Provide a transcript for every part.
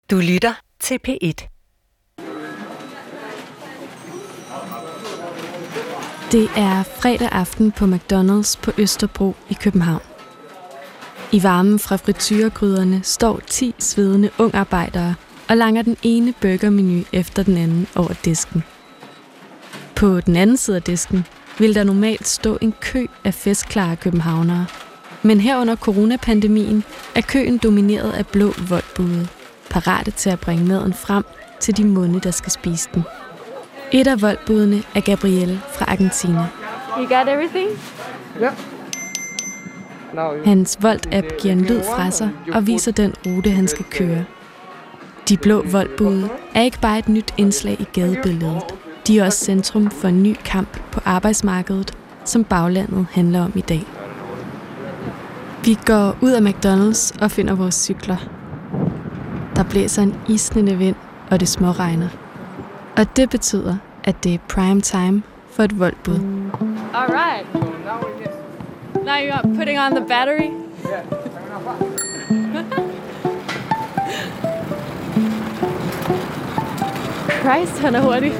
Du lytter til P1. Det er fredag aften på McDonald's på Østerbro i København. I varmen fra frityregryderne står 10 svedende ungarbejdere og langer den ene burgermenu efter den anden over disken. På den anden side af disken vil der normalt stå en kø af festklare københavnere. Men her under coronapandemien er køen domineret af blå voldbude, parate til at bringe maden frem til de munde, der skal spise den. Et af voldbudene er Gabriel fra Argentina. You got everything? Ja. Hans Volt-app giver en lyd fra sig og viser den rute, han skal køre. De blå voldbude er ikke bare et nyt indslag i gadebilledet. De er også centrum for en ny kamp på arbejdsmarkedet, som baglandet handler om i dag. Vi går ud af McDonald's og finder vores cykler. Der blæser en isnende vind, og det småregner. Og det betyder, at det er prime time for et voldbud. All right. Now you're putting on the battery? Christ, han er hurtig.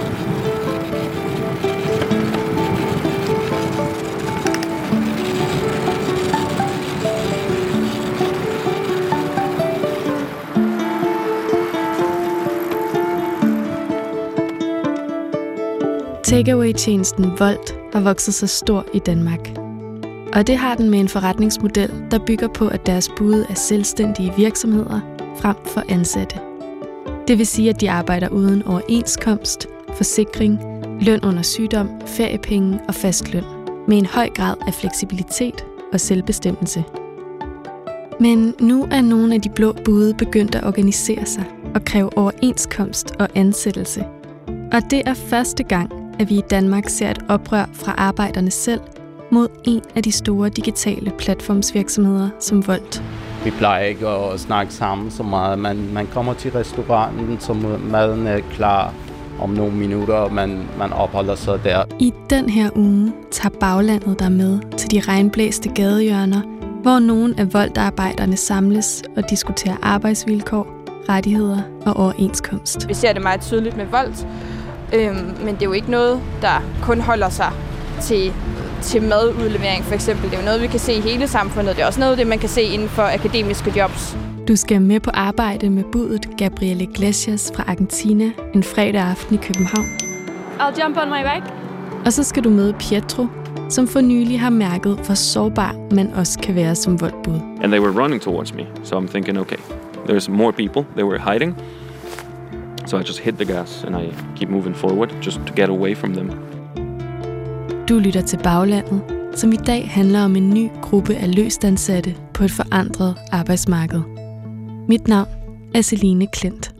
Takeaway-tjenesten Volt har vokset sig stor i Danmark. Og det har den med en forretningsmodel, der bygger på, at deres bude er selvstændige virksomheder frem for ansatte. Det vil sige, at de arbejder uden overenskomst, forsikring, løn under sygdom, feriepenge og fast løn, med en høj grad af fleksibilitet og selvbestemmelse. Men nu er nogle af de blå bude begyndt at organisere sig og kræve overenskomst og ansættelse. Og det er første gang, at vi i Danmark ser et oprør fra arbejderne selv mod en af de store digitale platformsvirksomheder som Volt. Vi plejer ikke at snakke sammen så meget. Man kommer til restauranten, så maden er klar om nogle minutter, og man opholder sig der. I den her uge tager baglandet der med til de regnblæste gadehjørner, hvor nogle af Volt-arbejderne samles og diskuterer arbejdsvilkår, rettigheder og overenskomst. Vi ser det meget tydeligt med Volt, men det er jo ikke noget, der kun holder sig til madudlevering for eksempel. Det er jo noget, vi kan se i hele samfundet. Det er også noget, det man kan se inden for akademiske jobs. Du skal med på arbejde med budet Gabriel Iglesias fra Argentina en fredag aften i København. I'll jump on my bike. Og så skal du møde Pietro, som for nylig har mærket, hvor sårbar man også kan være som voldbud. And they were running towards me, so I'm thinking, okay, there's more people. They were hiding. So I just hit the gas and I keep moving forward just to get away from them. Du lytter til Baglandet, som i dag handler om en ny gruppe af løstansatte på et forandret arbejdsmarked. Mit navn er Celine Klint.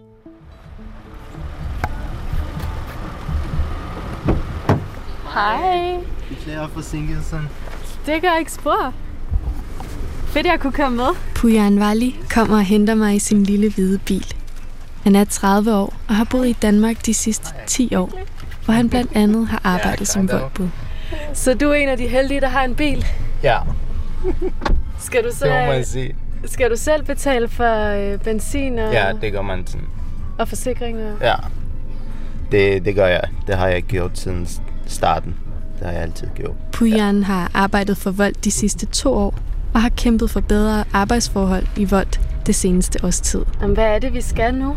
Hej. Beklager forsinkelsen. Det gør ikke spor. Fedt, jeg kunne komme med. Pujan Vali kommer og henter mig i sin lille hvide bil. Han er 30 år og har boet i Danmark de sidste 10 år, hvor han blandt andet har arbejdet som voldbud. Så du er en af de heldige, der har en bil? Ja, Skal du så, det må man sige. Skal du selv betale for benzin og, Ja, det gør man sådan. og forsikringer? Ja, det gør jeg. Det har jeg gjort siden starten. Det har jeg altid gjort. Pujan har arbejdet for Volt de sidste 2 år og har kæmpet for bedre arbejdsforhold i Volt det seneste års tid. Jamen, hvad er det, vi skal nu?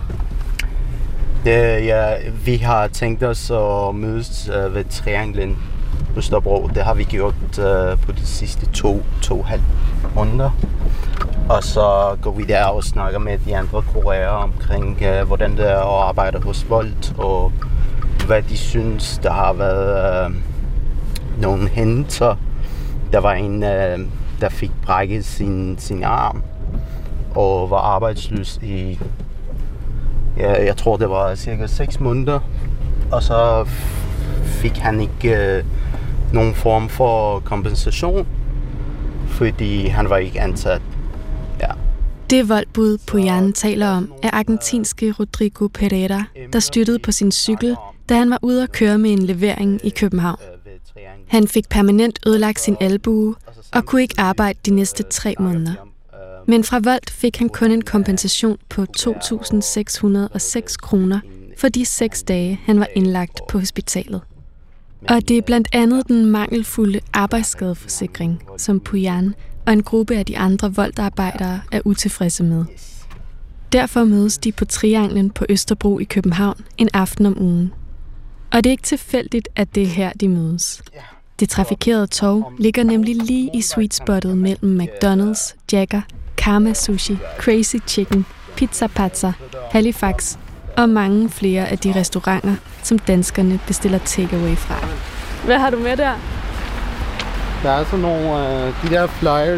Vi har tænkt os at mødes ved Trianglen Østerbro. Det har vi gjort på de sidste 2,5 måneder. Og så går vi der og snakker med de andre kurerer omkring, hvordan det er at arbejde hos Volt, og hvad de synes. Der har været nogle hændelser. Der var en, der fik brækket sin arm og var arbejdsløs i, jeg tror det var cirka 6 måneder. Og så fik han ikke nogen form for kompensation, fordi han var ikke ansat. Ja. Det voldbud Pujan taler om er argentinske Rodrigo Pereira, der styrtede på sin cykel, da han var ude at køre med en levering i København. Han fik permanent ødelagt sin albue og kunne ikke arbejde de næste 3 måneder. Men fra Volt fik han kun en kompensation på 2.606 kroner for de 6 dage, han var indlagt på hospitalet. Og det er blandt andet den mangelfulde arbejdsskadeforsikring, som Pujan og en gruppe af de andre Volt-arbejdere er utilfredse med. Derfor mødes de på Trianglen på Østerbro i København en aften om ugen. Og det er ikke tilfældigt, at det er her, de mødes. Det trafikerede torv ligger nemlig lige i sweet spottet mellem McDonald's, Jacker, Karma Sushi, Crazy Chicken, Pizza Pazza, Halifax og mange flere af de restauranter, som danskerne bestiller takeaway fra. Hvad har du med der? Der er sådan nogle de der flyers.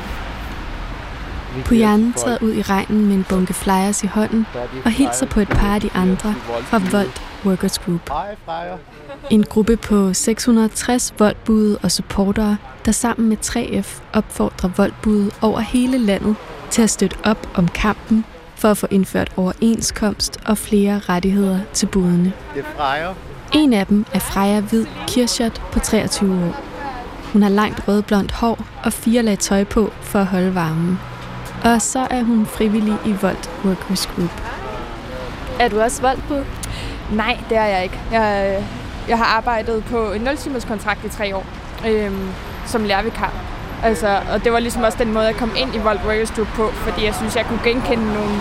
Pujan træder ud i regnen med en bunke flyers i hånden og hilser på et par af de andre fra Volt Workers Group. En gruppe på 660 Volt-bude og supportere, der sammen med 3F opfordrer Volt-bude over hele landet til at støtte op om kampen for at få indført overenskomst og flere rettigheder til budene. En af dem er Freja Hvid Kirschert på 23 år. Hun har langt rødblondt hår og 4 lag tøj på for at holde varmen. Og så er hun frivillig i Volt Workers Group. Er du også Volt-bud? Nej, det er jeg ikke. Jeg har arbejdet på en 0-timers kontrakt i 3 år som lærervikar. Altså, og det var ligesom også den måde, jeg kom ind i Volt Workers Group på, fordi jeg synes, jeg kunne genkende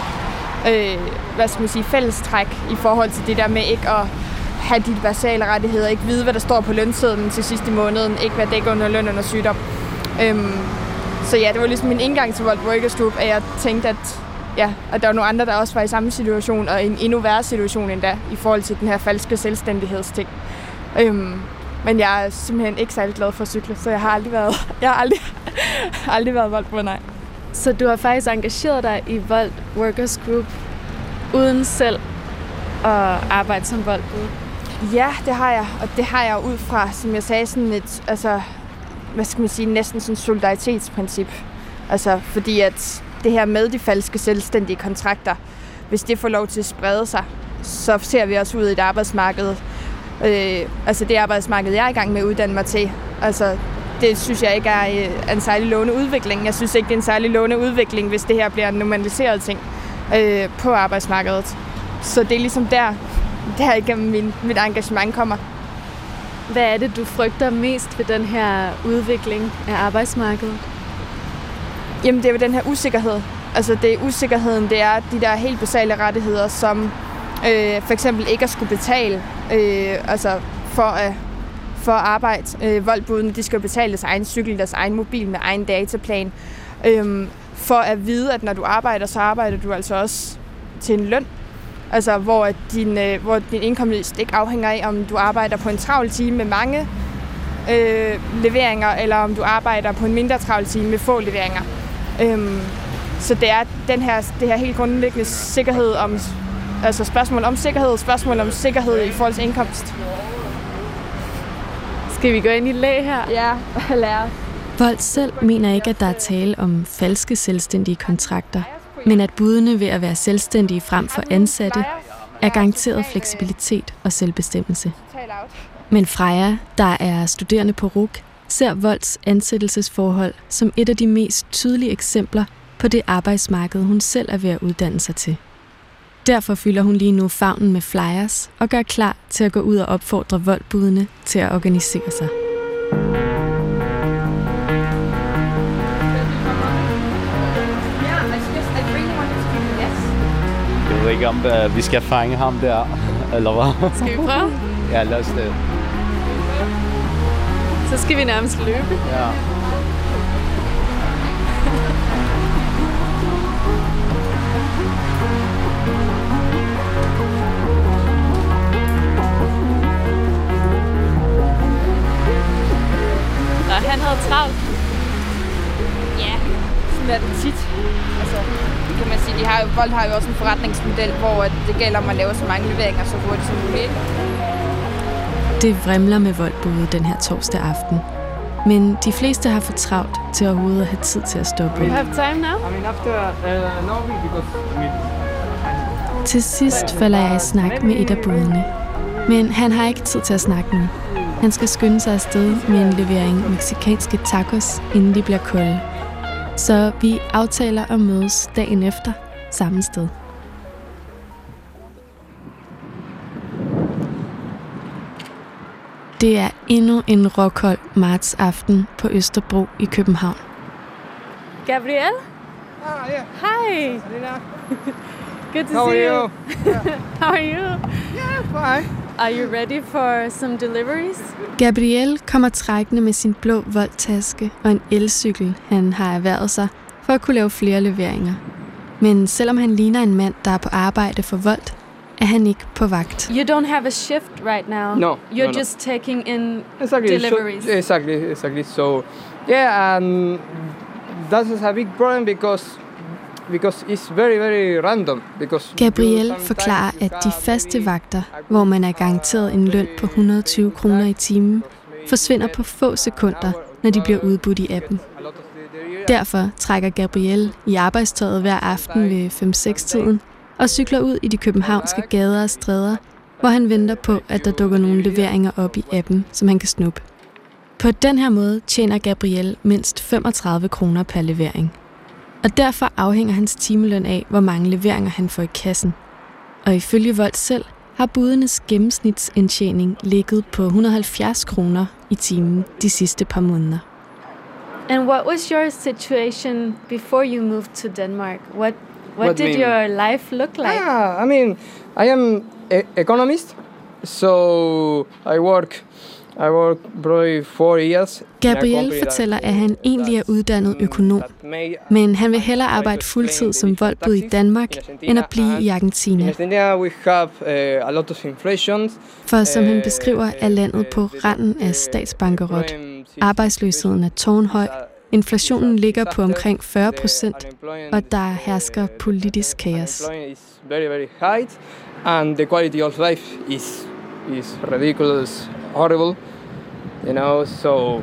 nogle fællestræk i forhold til det der med ikke at have de basale rettigheder, ikke vide, hvad der står på lønsedlen til sidst i måneden, ikke være dækket under løn under sygdom. Så ja, det var ligesom min indgang til Volt Workers Group, at jeg tænkte, at der var nogle andre, der også var i samme situation, og en endnu værre situation endda, i forhold til den her falske selvstændighedsting. Men jeg er simpelthen ikke særlig glad for at cykle, så jeg har aldrig været Volt på, nej. Så du har faktisk engageret dig i Volt Workers Group, uden selv at arbejde som Volt-bud? Ja, det har jeg, og det har jeg ud fra, som jeg sagde, sådan et, næsten sådan et solidaritetsprincip. Altså, fordi at det her med de falske selvstændige kontrakter, hvis det får lov til at sprede sig, så ser vi også ud i et arbejdsmarked. Det arbejdsmarked, jeg er i gang med at uddanne mig til. Altså, det synes jeg ikke er en særlig lovende udvikling. Jeg synes ikke, det er en særlig lovende udvikling, hvis det her bliver en normaliseret ting på arbejdsmarkedet. Så det er ligesom der igennem mit engagement kommer. Hvad er det, du frygter mest ved den her udvikling af arbejdsmarkedet? Jamen, det er jo den her usikkerhed. Altså, det er usikkerheden, det er de der helt basale rettigheder, som for eksempel ikke at skulle betale for at arbejde. Voltbudene, de skal jo betale deres egen cykel, deres egen mobil med egen dataplan. For at vide, at når du arbejder, så arbejder du altså også til en løn. Altså, hvor din indkomst ikke afhænger af, om du arbejder på en travl time med mange leveringer, eller om du arbejder på en mindre travl time med få leveringer. Så det er det her helt grundlæggende sikkerhed om, altså spørgsmål om sikkerhed i forhold til indkomst. Skal vi gå ind i læg her? Ja, lad os. Volt selv mener ikke, at der er tale om falske selvstændige kontrakter, men at budene ved at være selvstændige frem for ansatte er garanteret fleksibilitet og selvbestemmelse. Men Freja, der er studerende på RUC, ser Volts ansættelsesforhold som et af de mest tydelige eksempler på det arbejdsmarked, hun selv er ved at uddanne sig til. Derfor fylder hun lige nu favnen med flyers og gør klar til at gå ud og opfordre Voltbudene til at organisere sig. Jeg ved ikke, om vi skal fange ham der, eller hvad? Skal vi prøve? Ja, lad os det. Så skal vi nærmest løbe. Ja. Og han havde travlt. Ja, sådan er det tit. Altså, kan man sige, Volt har jo også en forretningsmodel, hvor det gælder om at lave så mange leveringer så hurtigt som muligt. Det vrimler med Voltbude den her torsdag aften. Men de fleste har for travlt til overhovedet at have tid til at stoppe. You have time now? Til sidst falder jeg i snak med et af budene. Men han har ikke tid til at snakke nu. Han skal skynde sig afsted med en levering mexicanske tacos, inden de bliver kolde. Så vi aftaler at mødes dagen efter samme sted. Det er endnu en råkold martsaften på Østerbro i København. Gabriel? Yeah. Hi. Selena. Good to How see are you. you? How are you? Yeah, fine. Are you ready for some deliveries? Gabriel kommer trækkende med sin blå Volt-taske og en elcykel, han har erhvervet sig for at kunne lave flere leveringer. Men selvom han ligner en mand, der er på arbejde for Volt, er han ikke på vagt. You don't have a shift right now. No. You're no. just taking in Exactly. deliveries. So, exactly. So, yeah, that's a big problem because it's very, very random. Gabriel forklarer, at de faste vagter, hvor man er garanteret en løn på 120 kroner i timen, forsvinder på få sekunder, når de bliver udbudt i appen. Derfor trækker Gabriel i arbejdstøjet hver aften ved 5-6-tiden og cykler ud i de københavnske gader og stræder, hvor han venter på, at der dukker nogle leveringer op i appen, som han kan snuppe. På den her måde tjener Gabriel mindst 35 kroner per levering. Og derfor afhænger hans timeløn af, hvor mange leveringer han får i kassen. Og ifølge Volt selv har budenes gennemsnitsindtjening ligget på 170 kroner i timen de sidste par måneder. And what was your situation before you moved to Denmark? What did your life look like? I mean, I am an economist, so I work probably 4 years. Gabriel fortæller, at han egentlig er uddannet økonom, men han vil hellere arbejde fuldtid som Voltbud i Danmark, end at blive i Argentina. We have a lot of inflation. For som han beskriver, er landet på randen af statsbankerot. Arbejdsløsheden er tårnhøj, inflationen ligger på omkring 40%, og der hersker politisk kaos. Very, very high, and the quality of life is ridiculous, horrible, you know. So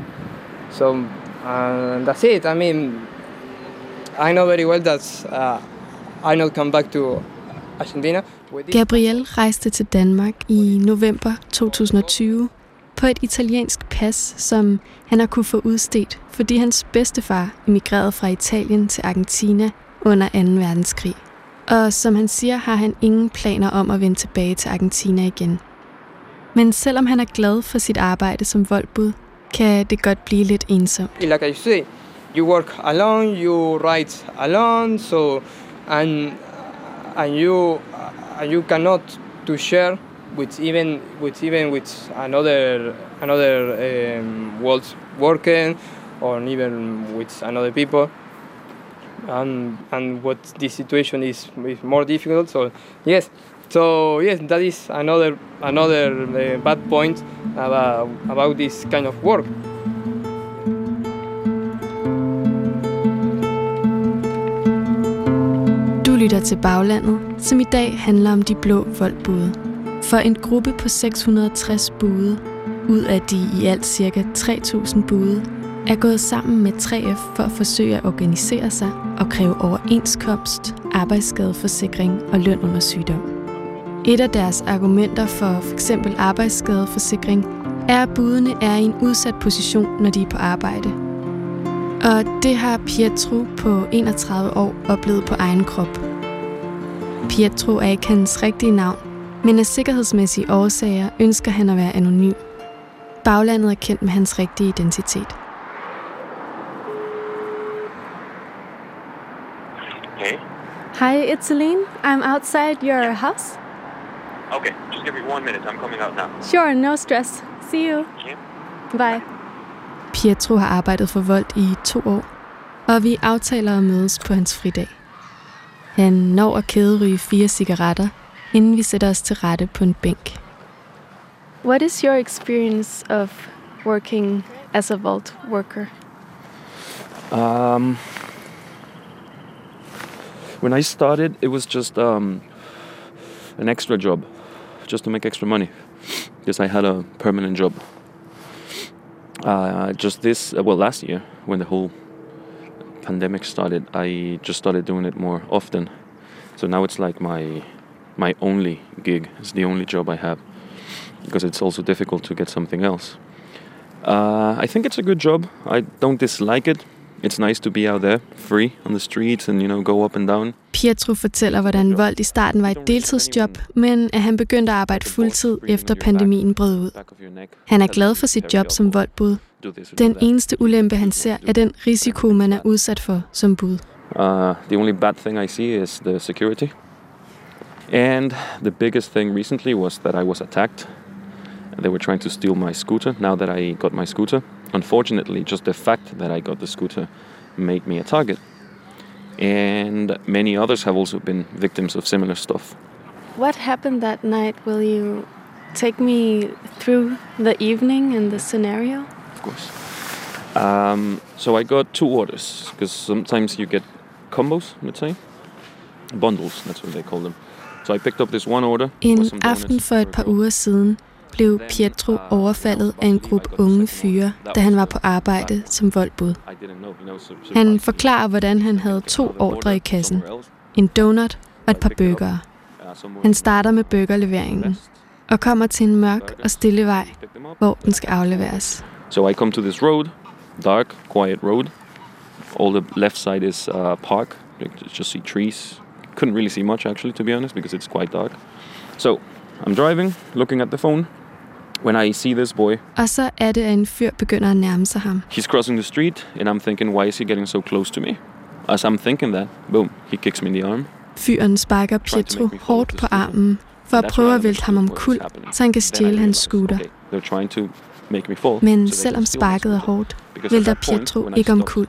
that's it. I mean, I know very well that I not come back to Argentina. Gabriel rejste til Danmark i november 2020 på et italiensk pas, som han har kunne få udstedt, fordi hans bedstefar emigrerede fra Italien til Argentina under 2. verdenskrig. Og som han siger, har han ingen planer om at vende tilbage til Argentina igen. Men selvom han er glad for sit arbejde som Voltbud, kan det godt blive lidt ensomt. Like I say, you work alone, you write alone, so and you cannot to share with another world working, or even with another people. And what this situation is more difficult. So yes, that is another bad point about this kind of work. Du lytter til Baglandet, som i dag handler om de blå Voltbude. For en gruppe på 660 bude, ud af de i alt ca. 3.000 bude, er gået sammen med 3F for at forsøge at organisere sig og kræve overenskomst, arbejdsskadeforsikring og løn under sygdom. Et af deres argumenter for f.eks. arbejdsskadeforsikring er, at budene er i en udsat position, når de er på arbejde. Og det har Pietro på 31 år oplevet på egen krop. Pietro er ikke hans rigtige navn, men af sikkerhedsmæssige årsager ønsker han at være anonym. Baglandet er kendt med hans rigtige identitet. Hey. Hi, it's Celine. I'm outside your house. Okay, just give me 1 minute. I'm coming out now. Sure, no stress. See you. Yeah. Bye. Pietro har arbejdet for Volt i 2 år, og vi aftaler at mødes på hans fridag. Han når at kæderyge 4 cigaretter, inden vi sætter os til rette på en bænk. What is your experience of working as a Volt worker? When I started, it was just an extra job, just to make extra money, because I had a permanent job. Last year, when the whole pandemic started, I just started doing it more often. So now it's like my only gig. It's the only job I have, because it's also difficult to get something else. I think it's a good job. I don't dislike it. It's nice to be out there, free on the streets and, go up and down. Pietro fortæller, hvordan Volt i starten var et deltidsjob, men at han begyndte at arbejde fuldtid efter pandemien brød ud. Han er glad for sit job som Volt-bud. Den eneste ulempe, han ser, er den risiko, man er udsat for som bud. The only bad thing I see is the security. And the biggest thing recently was that I was attacked. They were trying to steal my scooter now that I got my scooter. Unfortunately, just the fact that I got the scooter made me a target. And many others have also been victims of similar stuff. What happened that night? Will you take me through the evening and the scenario? Of course. So I got 2 orders, because sometimes you get combos, let's say. Bundles, that's what they call them. So I picked up this one order. En aften for et par uger siden blev Pietro overfaldet af en gruppe unge fyre, da han var på arbejde som Volt-bud. Han forklarer, hvordan han havde 2 ordre i kassen. En donut og et par burgere. Han starter med burgerleveringen og kommer til en mørk og stille vej, hvor den skal afleveres. So I come to this road, dark, quiet road. All the left side is park. You just see trees. Couldn't really see much actually, to be honest, because it's quite dark. So I'm driving, looking at the phone. When I see this boy, og så er det, at en fyr begynder at nærme sig ham. He's crossing the street, and I'm thinking, why is he getting so close to me? As I'm thinking that, boom, he kicks me in the arm. Fyren sparker Pietro hårdt på armen for at prøve at vælte ham omkuld, så han kan stjæle hans scooter. Men selvom sparket er hårdt, vælter Pietro ikke omkuld.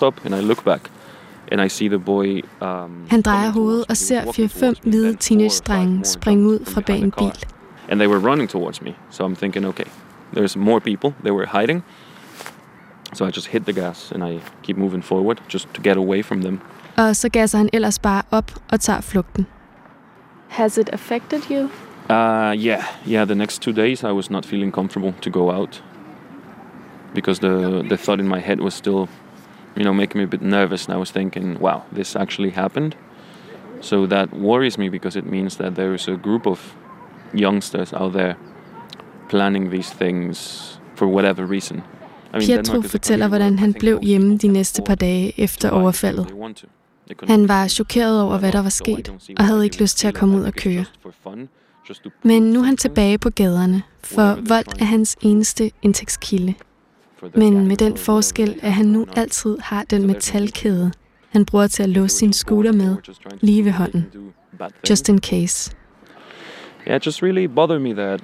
Han drejer hovedet og ser 4-5 hvide teenage-drenge springe ud fra bag en bil. And they were running towards me, so I'm thinking, okay, there's more people. They were hiding, so I just hit the gas and I keep moving forward just to get away from them. Og så gasser han ellers bare op og tager flugten. Has it affected you? Yeah. The next 2 days I was not feeling comfortable to go out because the thought in my head was still, making me a bit nervous. And I was thinking, wow, this actually happened. So that worries me because it means that there is a group of youngsters out there planning these things for whatever reason. Pietro fortæller, hvordan han blev hjemme de næste par dage efter overfaldet. Han var chokeret over, hvad der var sket, og havde ikke lyst til at komme ud og køre. Men nu er han tilbage på gaderne, for Volt er hans eneste indtægtskilde. Men med den forskel, at han nu altid har den metalkæde, han bruger til at låse sin scooter med, lige ved hånden. Just in case. Yeah, it just really bothered me that,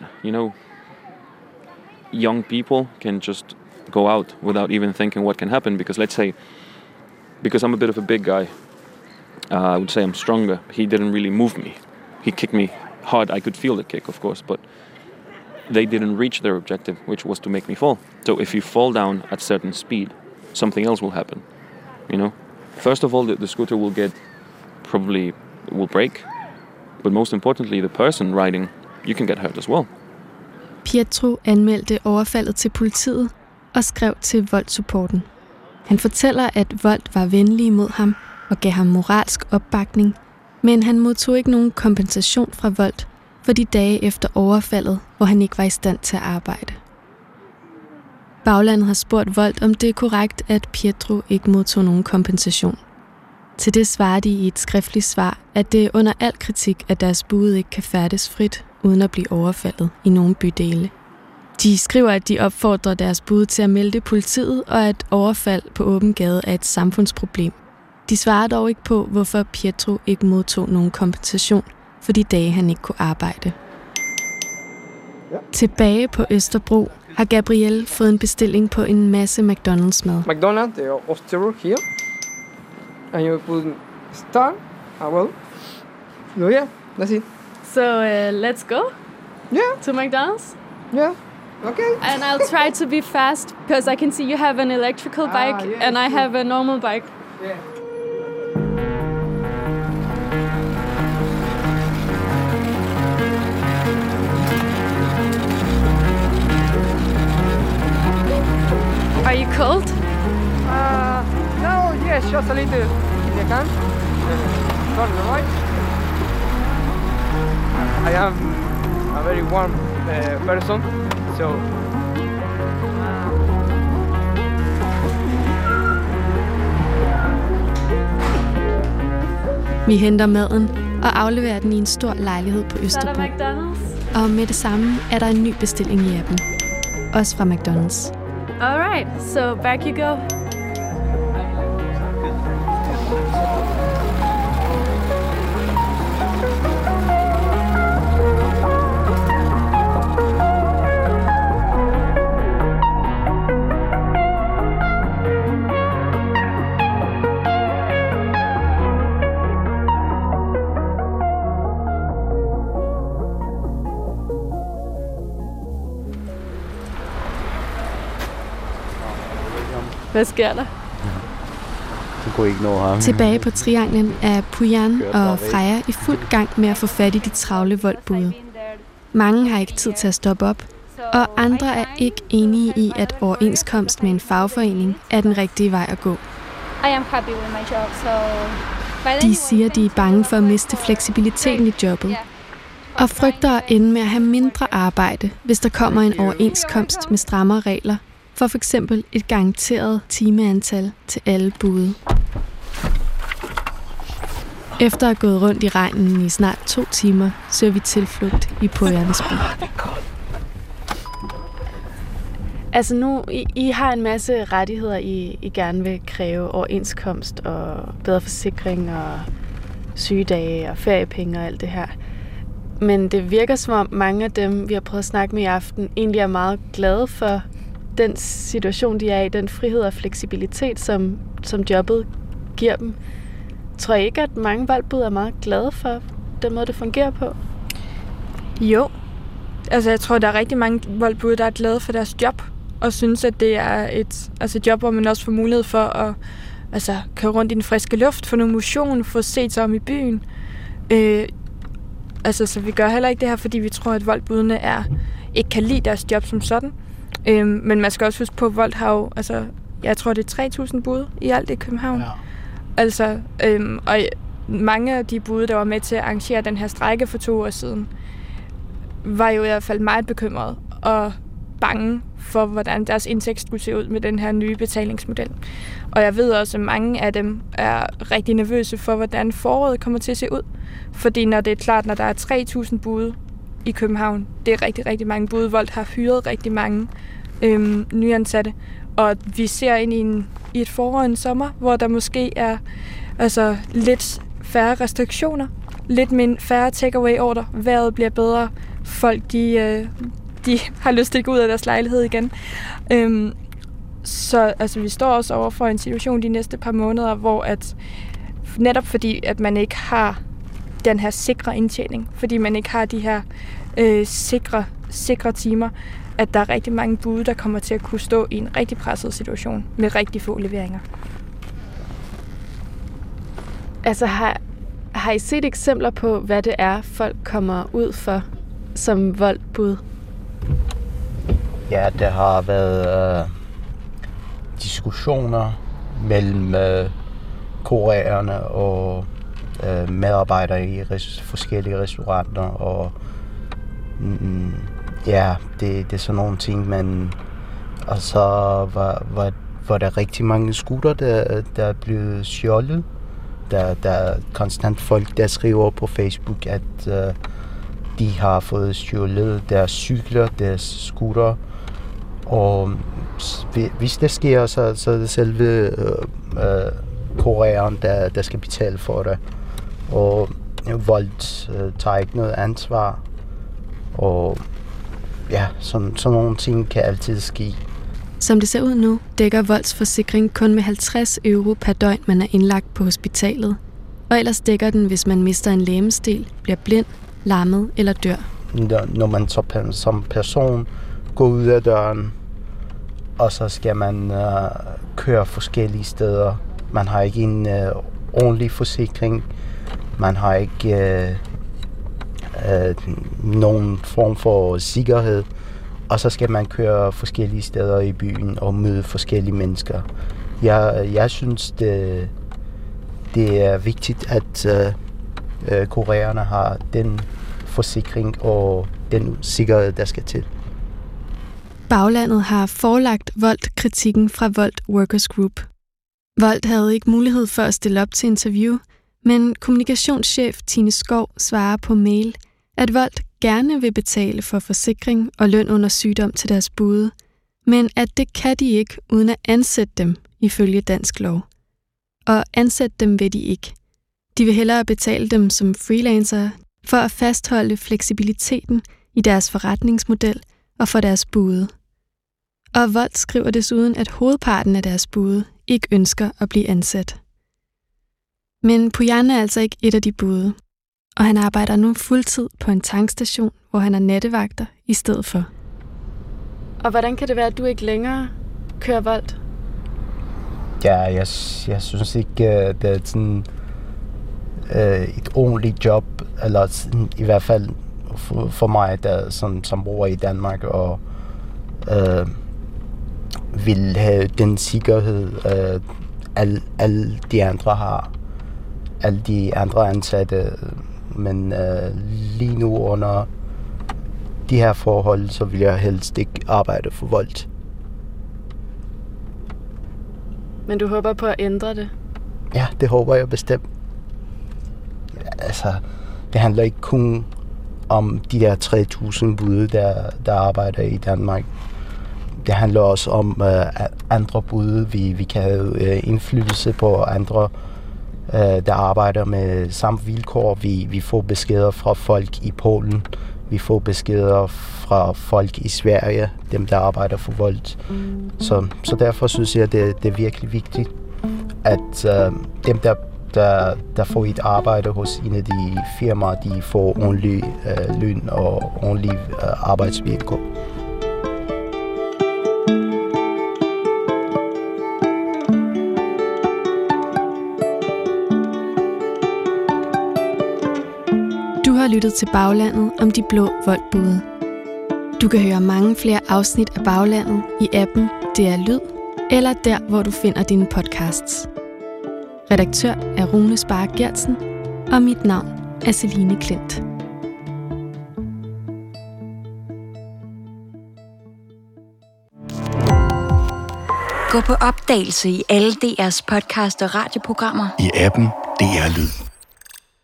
young people can just go out without even thinking what can happen. Because let's say, because I'm a bit of a big guy, I would say I'm stronger. He didn't really move me. He kicked me hard. I could feel the kick, of course, but they didn't reach their objective, which was to make me fall. So if you fall down at certain speed, something else will happen, First of all, the scooter will break. But most importantly, the person riding, you can get hurt as well. Pietro anmeldte overfaldet til politiet og skrev til Volt-supporten. Han fortæller, at Volt var venlige mod ham og gav ham moralsk opbakning, men han modtog ikke nogen kompensation fra Volt for de dage efter overfaldet, hvor han ikke var i stand til at arbejde. Baglandet har spurgt Volt, om det er korrekt, at Pietro ikke modtog nogen kompensation. Til det svarer de i et skriftligt svar, at det er under al kritik, at deres bud ikke kan færdes frit, uden at blive overfaldet i nogle bydele. De skriver, at de opfordrer deres bud til at melde politiet, og at overfald på åben gade er et samfundsproblem. De svarer dog ikke på, hvorfor Pietro ikke modtog nogen kompensation for de dage, han ikke kunne arbejde. Tilbage på Østerbro har Gabriel fået en bestilling på en masse McDonald's-mad. McDonald's, the Osterro here. And you put star, well, no, yeah, that's it. So let's go? Yeah. To McDonald's? Yeah, okay. And I'll try to be fast, because I can see you have an electrical bike and I have a normal bike. Yeah. Are you cold? No, yes, just a little, if you can. Turn right. I am a very warm person, so... Vi henter maden og afleverer den i en stor lejlighed på Østerbro. Så er der McDonald's. Og med det samme er der en ny bestilling i appen. Også fra McDonald's. Alright, so back you go. Hvad sker der? Du kunne ikke nå ham. Tilbage på trianglen er Pujan og Freja i fuld gang med at få fat i de travle voldbude. Mange har ikke tid til at stoppe op, og andre er ikke enige i, at overenskomst med en fagforening er den rigtige vej at gå. De siger, de er bange for at miste fleksibiliteten i jobbet, og frygter at ende med at have mindre arbejde, hvis der kommer en overenskomst med strammere regler, for f.eks. et garanteret timeantal til alle bude. Efter at have gået rundt i regnen i snart 2 timer, søger vi tilflugt i Pujans bil. Altså nu, I har en masse rettigheder, I gerne vil kræve overenskomst og bedre forsikring og sygedage og feriepenge og alt det her. Men det virker som om mange af dem, vi har prøvet at snakke med i aften, egentlig er meget glade for den situation, de er i, den frihed og fleksibilitet, som jobbet giver dem. Tror I ikke, at mange voldbud er meget glade for den måde, det fungerer på? Jo. Altså, jeg tror, der er rigtig mange voldbud, der er glade for deres job, og synes, at det er et job, hvor man også får mulighed for at køre rundt i den friske luft, få noget motion, få set sig om i byen. Så vi gør heller ikke det her, fordi vi tror, at voldbudene ikke kan lide deres job som sådan. Men man skal også huske på, at Volt har jo, jeg tror, det er 3.000 bude i alt i København. Ja. Og mange af de bude, der var med til at arrangere den her strejke for 2 år siden, var jo i hvert fald meget bekymrede og bange for, hvordan deres indtægt skulle se ud med den her nye betalingsmodel. Og jeg ved også, at mange af dem er rigtig nervøse for, hvordan foråret kommer til at se ud. Fordi når det er klart, når der er 3.000 bude i København, det er rigtig, rigtig mange bude. Volt har hyret rigtig mange nyansatte. Og vi ser ind i et forår og en sommer, hvor der måske er lidt færre restriktioner, lidt færre takeaway-ordre. Vejret bliver bedre. Folk, de har lyst til at gå ud af deres lejlighed igen. Så vi står også over for en situation de næste par måneder, hvor netop fordi, at man ikke har den her sikre indtjening, fordi man ikke har de her sikre timer, at der er rigtig mange bude, der kommer til at kunne stå i en rigtig presset situation med rigtig få leveringer. Altså har I set eksempler på, hvad det er, folk kommer ud for som voldbud? Ja, der har været diskussioner mellem kurererne og medarbejdere i forskellige restauranter, og det er sådan nogle ting, men og så var der rigtig mange scooter, der er blevet stjålet. Der er konstant folk, der skriver på Facebook, at de har fået stjålet deres cykler, deres scooter, og hvis det sker, så er det selve kureren, der skal betale for det. Og Volt tager ikke noget ansvar, og sådan nogle ting kan altid ske. Som det ser ud nu, dækker Volts forsikring kun med 50 euro per døgn, man er indlagt på hospitalet. Og ellers dækker den, hvis man mister en legemsdel, bliver blind, lammet eller dør. Når man som person går ud af døren, og så skal man køre forskellige steder. Man har ikke en ordentlig forsikring. Man har ikke nogen form for sikkerhed. Og så skal man køre forskellige steder i byen og møde forskellige mennesker. Jeg synes, det er vigtigt, at kurererne har den forsikring og den sikkerhed, der skal til. Baglandet har forelagt Volt kritikken fra Volt Workers Group. Volt havde ikke mulighed for at stille op til interview, Men kommunikationschef Tine Skov svarer på mail, at Volt gerne vil betale for forsikring og løn under sygdom til deres bude, men at det kan de ikke uden at ansætte dem ifølge dansk lov. Og ansætte dem vil de ikke. De vil hellere betale dem som freelancere for at fastholde fleksibiliteten i deres forretningsmodel og for deres bude. Og Volt skriver desuden, at hovedparten af deres bude ikke ønsker at blive ansat. Men Pujan er altså ikke et af de bude, og han arbejder nu fuldtid på en tankstation, hvor han er nattevagter i stedet for. Og hvordan kan det være, at du ikke længere kører Volt? Ja, jeg synes ikke, det er sådan et ordentligt job, eller sådan, i hvert fald for mig, der som bor i Danmark og vil have den sikkerhed, alle de andre har, alle de andre ansatte, men lige nu under de her forhold, så vil jeg helst ikke arbejde for Volt. Men du håber på at ændre det? Ja, det håber jeg bestemt. Altså, det handler ikke kun om de der 3.000 bude, der arbejder i Danmark. Det handler også om andre bude. Vi kan have indflydelse på andre, der arbejder med samme vilkår. Vi får beskeder fra folk i Polen. Vi får beskeder fra folk i Sverige, dem der arbejder for Volt. Så derfor synes jeg, det er virkelig vigtigt, at dem der får et arbejde hos en af de firmaer, de får ordentlig løn og ordentlige arbejdsvilkår. Du har lyttet til Baglandet om de blå Volt-bude. Du kan høre mange flere afsnit af Baglandet i appen DR Lyd, eller der, hvor du finder dine podcasts. Redaktør er Rune Sparre Gertsen, og mit navn er Celine Klint. Gå på opdagelse i alle DR's podcast og radioprogrammer. I appen DR Lyd.